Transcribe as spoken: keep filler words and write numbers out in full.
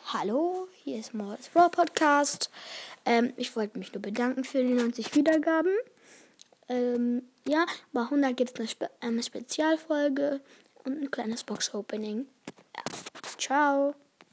Hallo, hier ist Mords Raw Podcast. Ähm, ich wollte mich nur bedanken für die neunzig Wiedergaben. Ähm, ja, bei hundert gibt es eine, Spe- eine Spezialfolge und ein kleines Box-Opening. Ja. Ciao.